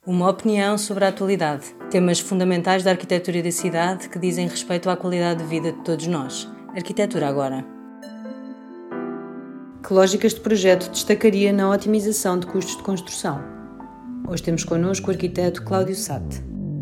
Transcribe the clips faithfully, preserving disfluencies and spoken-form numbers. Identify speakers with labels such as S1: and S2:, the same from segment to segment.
S1: Uma opinião sobre a atualidade, temas fundamentais da arquitetura e da cidade que dizem respeito à qualidade de vida de todos nós. Arquitetura agora. Que lógicas de projeto destacaria na otimização de custos de construção? Hoje temos connosco o arquiteto Cláudio Satte.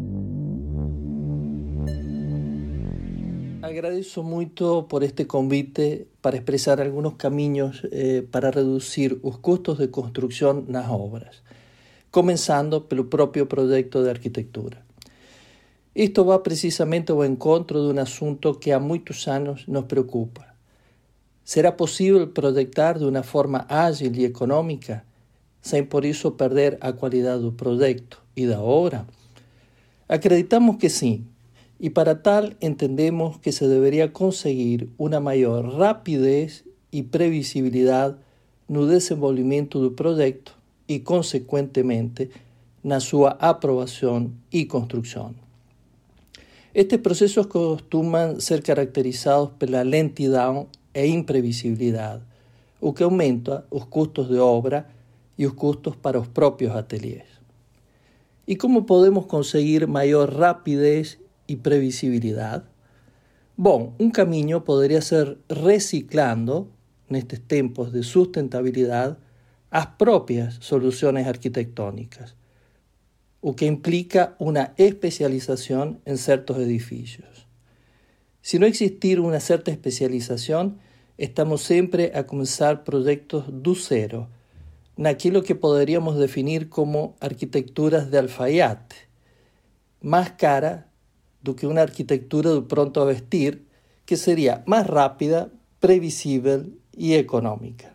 S2: Agradeço muito por este convite para expressar algunos caminhos eh, para reducir os custos de construção nas obras, começando pelo próprio projeto de arquitetura. Isto vai precisamente ao encontro de um assunto que há muitos anos nos preocupa. Será possível projetar de uma forma ágil e econômica, sem por isso perder a qualidade do projeto e da obra? Acreditamos que sim, e para tal entendemos que se deveria conseguir uma maior rapidez e previsibilidade no desenvolvimento do projeto e, consequentemente, na sua aprovação e construção. Estes processos costumam ser caracterizados pela lentidão e imprevisibilidade, o que aumenta os custos de obra e os custos para os próprios ateliês. E como podemos conseguir maior rapidez e previsibilidade? Bom, um caminho poderia ser reciclando, nestes tempos de sustentabilidade, as próprias soluções arquitetônicas, o que implica uma especialização em certos edifícios. Se não existir uma certa especialização, estamos sempre a começar projetos do zero, naquilo que poderíamos definir como arquiteturas de alfaiate, mais cara do que uma arquitetura do pronto a vestir, que seria mais rápida, previsível e econômica.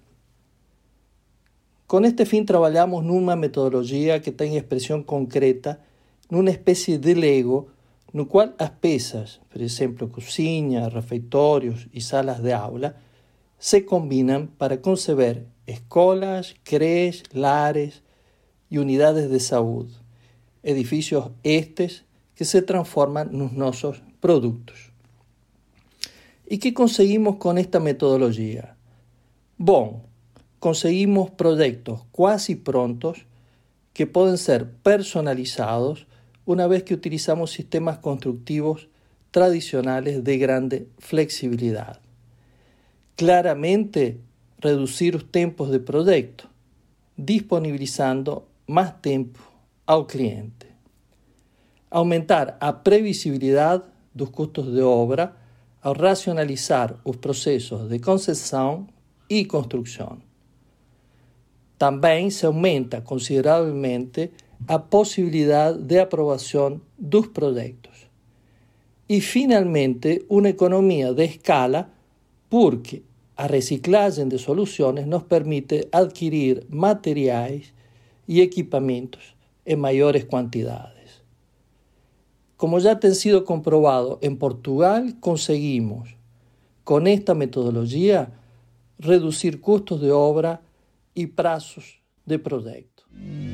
S2: Com este fim, trabalhamos numa metodologia que tem expressão concreta numa espécie de Lego, no qual as peças, por exemplo, cozinha, refeitórios e salas de aula, se combinam para conceber escolas, creches, lares e unidades de saúde, edifícios estes que se transformam nos nossos produtos. E que conseguimos com esta metodologia? Bom, conseguimos projetos quase prontos que podem ser personalizados uma vez que utilizamos sistemas construtivos tradicionais de grande flexibilidade. Claramente, reduzir os tempos de projeto, disponibilizando mais tempo ao cliente. Aumentar a previsibilidade dos custos de obra ao racionalizar os processos de concessão e construção. Também se aumenta consideravelmente a possibilidade de aprovação dos projetos. E, finalmente, uma economia de escala, porque a reciclagem de soluções nos permite adquirir materiais e equipamentos em maiores quantidades. Como já tem sido comprovado em Portugal, conseguimos, com esta metodologia, reduzir custos de obra e prazos de projeto.